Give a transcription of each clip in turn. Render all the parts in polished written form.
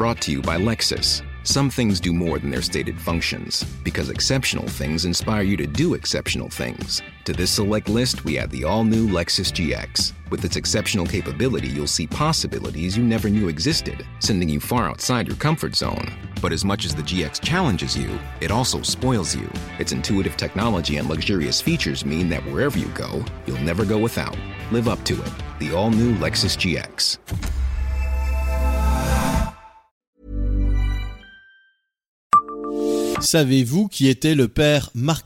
Brought to you by Lexus. Some things do more than their stated functions, because exceptional things inspire you to do exceptional things. To this select list, we add the all-new Lexus GX. With its exceptional capability, you'll see possibilities you never knew existed, sending you far outside your comfort zone. But as much as the GX challenges you, it also spoils you. Its intuitive technology and luxurious features mean that wherever you go, you'll never go without. Live up to it. The all-new Lexus GX. Savez-vous qui était le père Marquette ?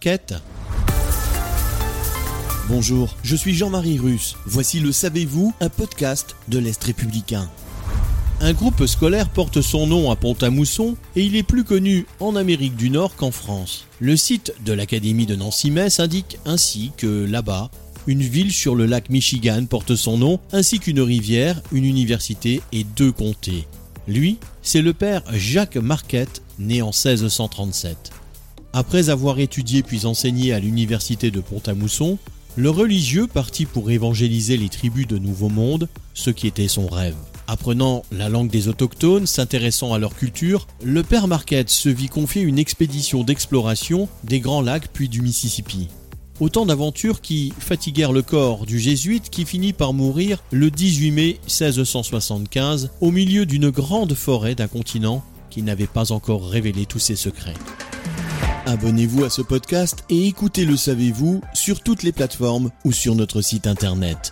Bonjour, je suis Jean-Marie Russe. Voici le Savez-vous, un podcast de l'Est républicain. Un groupe scolaire porte son nom à Pont-à-Mousson et il est plus connu en Amérique du Nord qu'en France. Le site de l'Académie de Nancy-Metz indique ainsi que là-bas, une ville sur le lac Michigan porte son nom, ainsi qu'une rivière, une université et 2 comtés. Lui, c'est le père Jacques Marquette, né en 1637. Après avoir étudié puis enseigné à l'université de Pont-à-Mousson, le religieux partit pour évangéliser les tribus de Nouveau Monde, ce qui était son rêve. Apprenant la langue des autochtones, s'intéressant à leur culture, le père Marquette se vit confier une expédition d'exploration des Grands Lacs puis du Mississippi. Autant d'aventures qui fatiguèrent le corps du jésuite qui finit par mourir le 18 mai 1675 au milieu d'une grande forêt d'un continent qui n'avait pas encore révélé tous ses secrets. Abonnez-vous à ce podcast et écoutez Le Savez-vous sur toutes les plateformes ou sur notre site internet.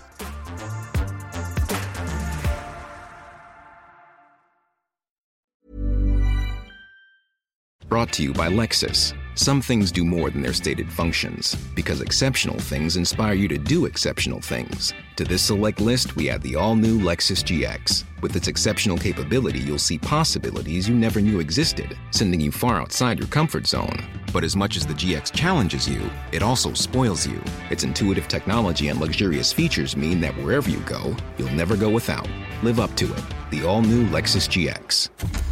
Brought to you by Lexus. Some things do more than their stated functions, because exceptional things inspire you to do exceptional things. To this select list, we add the all-new Lexus GX. With its exceptional capability, you'll see possibilities you never knew existed, sending you far outside your comfort zone. But as much as the GX challenges you, it also spoils you. Its intuitive technology and luxurious features mean that wherever you go, you'll never go without. Live up to it. The all-new Lexus GX.